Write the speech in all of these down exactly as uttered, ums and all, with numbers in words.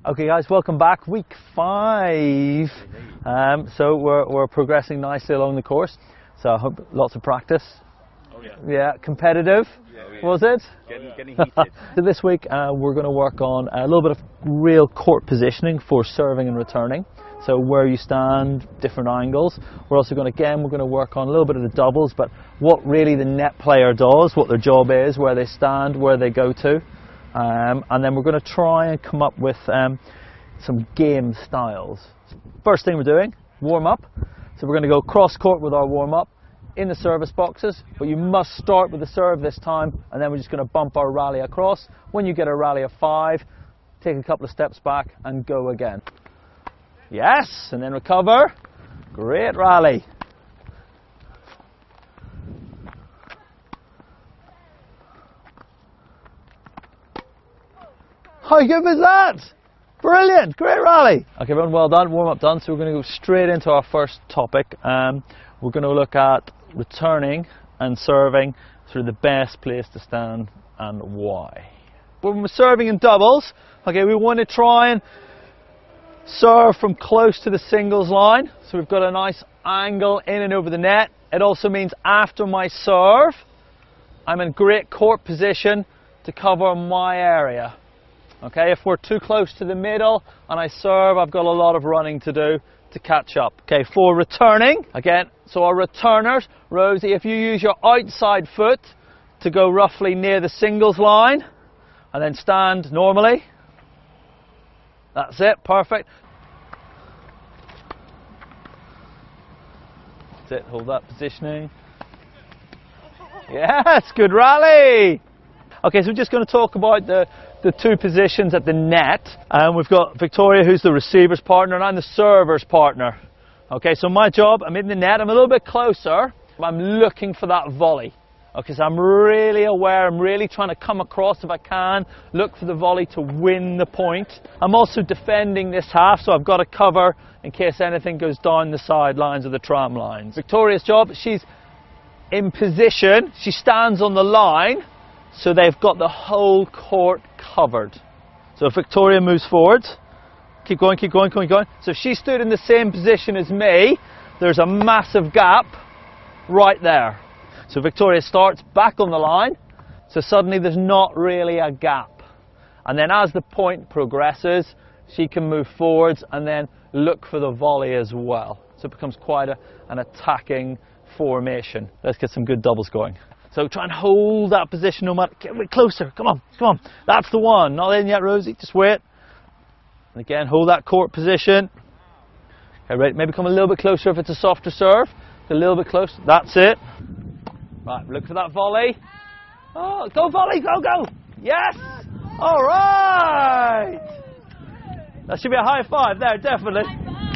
Okay guys, welcome back. Week five. Um, so we're, we're progressing nicely along the course. So I hope lots of practice. Oh yeah. Yeah, competitive. Yeah, yeah. Was it? Getting, getting heated. So this week uh, we're going to work on a little bit of real court positioning for serving and returning. So where you stand, different angles. We're also going to, again, we're going to work on a little bit of the doubles, but what really the net player does, what their job is, where they stand, where they go to. Um, and then we're going to try and come up with um, some game styles. First thing we're doing, warm up. So we're going to go cross court with our warm up in the service boxes, but you must start with the serve this time, and then we're just going to bump our rally across. When you get a rally of five, take a couple of steps back and go again. Yes, and then recover. Great rally. How good was that? Brilliant, great rally. Okay, everyone, well done, warm up done. So we're going to go straight into our first topic. Um, we're going to look at returning and serving through the best place to stand and why. When we're serving in doubles, okay, we want to try and serve from close to the singles line. So we've got a nice angle in and over the net. It also means after my serve, I'm in great court position to cover my area. Okay, if we're too close to the middle and I serve, I've got a lot of running to do to catch up. Okay, for returning, again, so our returners, Rosie, if you use your outside foot to go roughly near the singles line and then stand normally. That's it, perfect. That's it, hold that positioning. Yes, good rally. Okay, so we're just going to talk about the, the two positions at the net. And we've got Victoria, who's the receiver's partner, and I'm the server's partner. Okay, so my job, I'm in the net, I'm a little bit closer. I'm looking for that volley. Okay, so I'm really aware, I'm really trying to come across if I can, look for the volley to win the point. I'm also defending this half, so I've got to cover in case anything goes down the sidelines of the tram lines. Victoria's job, she's in position, she stands on the line, so they've got the whole court covered. So if Victoria moves forward, keep going, keep going, keep going. So if she stood in the same position as me, there's a massive gap right there. So Victoria starts back on the line, so suddenly there's not really a gap. And then as the point progresses, she can move forwards and then look for the volley as well. So it becomes quite a, an attacking formation. Let's get some good doubles going. So try and hold that position no matter, get a bit closer, come on, come on. That's the one, not in yet, Rosie, just wait. And again, hold that court position. Okay, ready, maybe come a little bit closer if it's a softer serve. A little bit closer, that's it. Right, look for that volley. Oh, go volley, go, go. Yes, all right. That should be a high five there, definitely.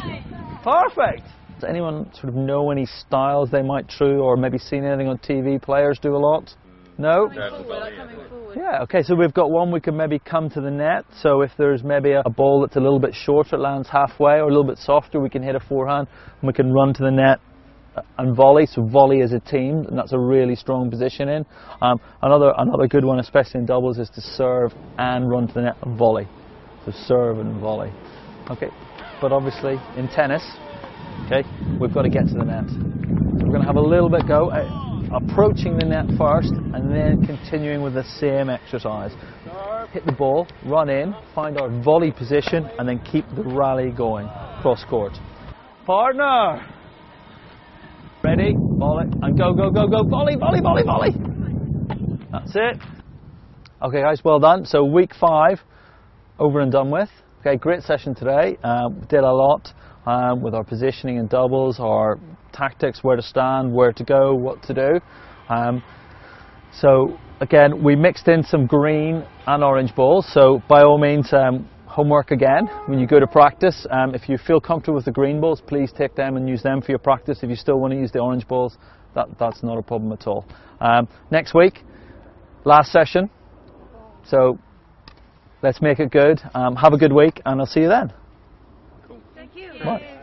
Perfect. Does anyone sort of know any styles they might true, or maybe seen anything on T V players do a lot? No? Yeah, okay, so we've got one, we can maybe come to the net. So if there's maybe a, a ball that's a little bit shorter, it lands halfway, or a little bit softer, we can hit a forehand and we can run to the net and volley. So volley as a team, and that's a really strong position in. Um, another, another good one, especially in doubles, is to serve and run to the net and volley. So serve and volley. Okay, but obviously in tennis, okay, we've got to get to the net. So we're going to have a little bit go, uh, approaching the net first and then continuing with the same exercise. Hit the ball, run in, find our volley position and then keep the rally going, cross court. Partner! Ready, volley, and go, go, go, go, volley, volley, volley, volley! That's it. Okay guys, well done. So week five, over and done with. Okay, great session today. Uh, did a lot. Um, with our positioning in doubles, our tactics, where to stand, where to go, what to do. Um, so again, we mixed in some green and orange balls, so by all means um, homework again when you go to practice. Um, if you feel comfortable with the green balls, please take them and use them for your practice. If you still want to use the orange balls, that, that's not a problem at all. Um, next week, last session, so let's make it good. Um, have a good week and I'll see you then. Thank you. What?